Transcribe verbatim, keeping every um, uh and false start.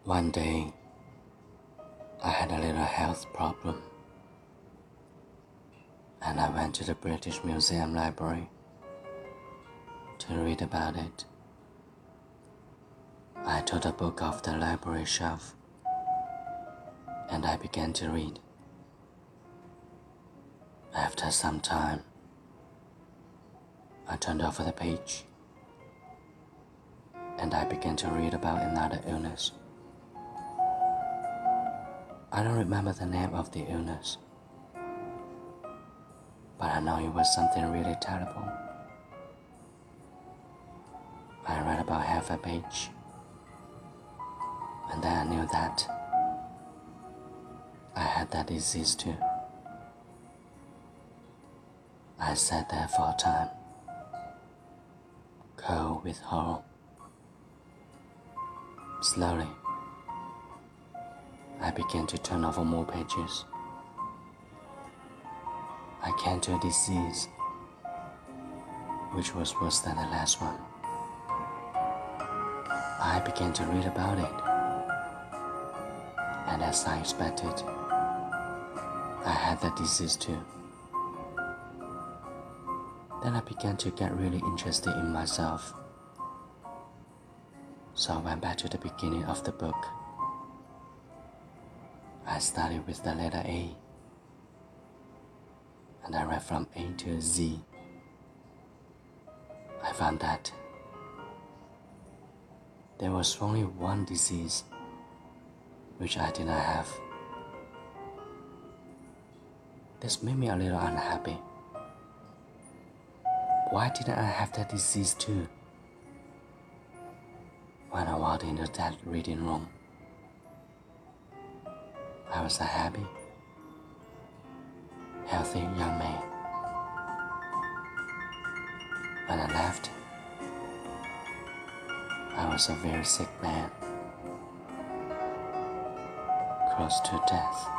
One day, I had a little health problem, and I went to the British Museum library to read about it. I took a book off the library shelf, and I began to read. After some time, I turned over the page, and I began to read about another illness. I don't remember the name of the illness, but I know it was something really terrible. I read about half a page, and then I knew that I had that disease too. I sat there for a time, cold with horror. Slowly, I began to turn over more pages. I came to a disease which was worse than the last one. I began to read about it, and as I expected, I had that disease too. Then I began to get really interested in myself. So I went back to the beginning of the book. I started with the letter A, and I read from A to Z. I found that there was only one disease which I did not have. This made me a little unhappy. Why didn't I have that disease too? When I walked into that reading room, I was a happy, healthy young man. When I left, I was a very sick man, close to death.